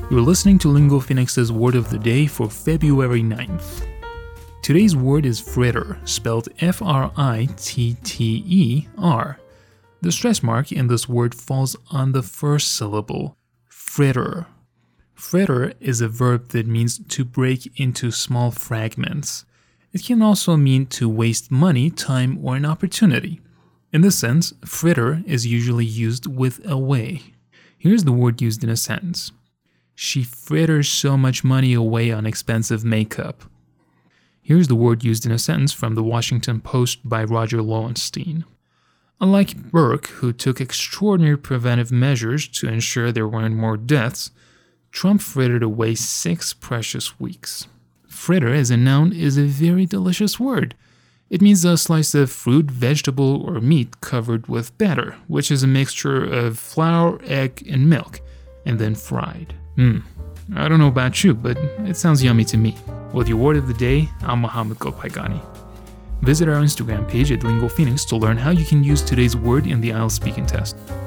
You're listening to Lingo Phoenix's Word of the Day for February 9th. Today's word is fritter, spelled F-R-I-T-T-E-R. The stress mark in this word falls on the first syllable, fritter. Fritter is a verb that means to break into small fragments. It can also mean to waste money, time, or an opportunity. In this sense, fritter is usually used with away. Here's the word used in a sentence. She fritters so much money away on expensive makeup. Here's the word used in a sentence from the Washington Post by Roger Lowenstein. Unlike Burke, who took extraordinary preventive measures to ensure there weren't more deaths, Trump frittered away 6 precious weeks. Fritter as a noun is a very delicious word. It means a slice of fruit, vegetable, or meat covered with batter, which is a mixture of flour, egg, and milk, and then fried. I don't know about you, but it sounds yummy to me. With your word of the day, I'm Mohammed Golpaigani. Visit our Instagram page at Lingo Phoenix to learn how you can use today's word in the IELTS speaking test.